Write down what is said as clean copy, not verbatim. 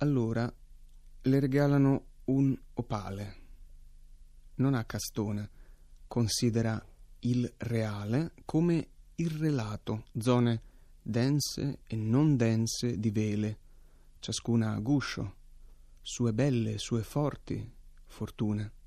Allora le regalano un opale. Non ha castone, considera il reale come il relato, zone dense e non dense di vele, ciascuna a guscio, sue belle, sue forti fortune.